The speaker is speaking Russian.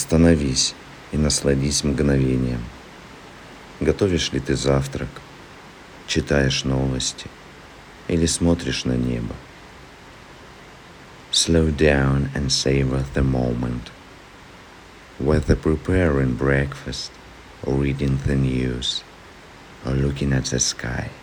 Остановись и насладись мгновением. Готовишь ли ты завтрак, читаешь новости или смотришь на небо? Slow down and savor the moment. Whether preparing breakfast or reading the news or looking at the sky.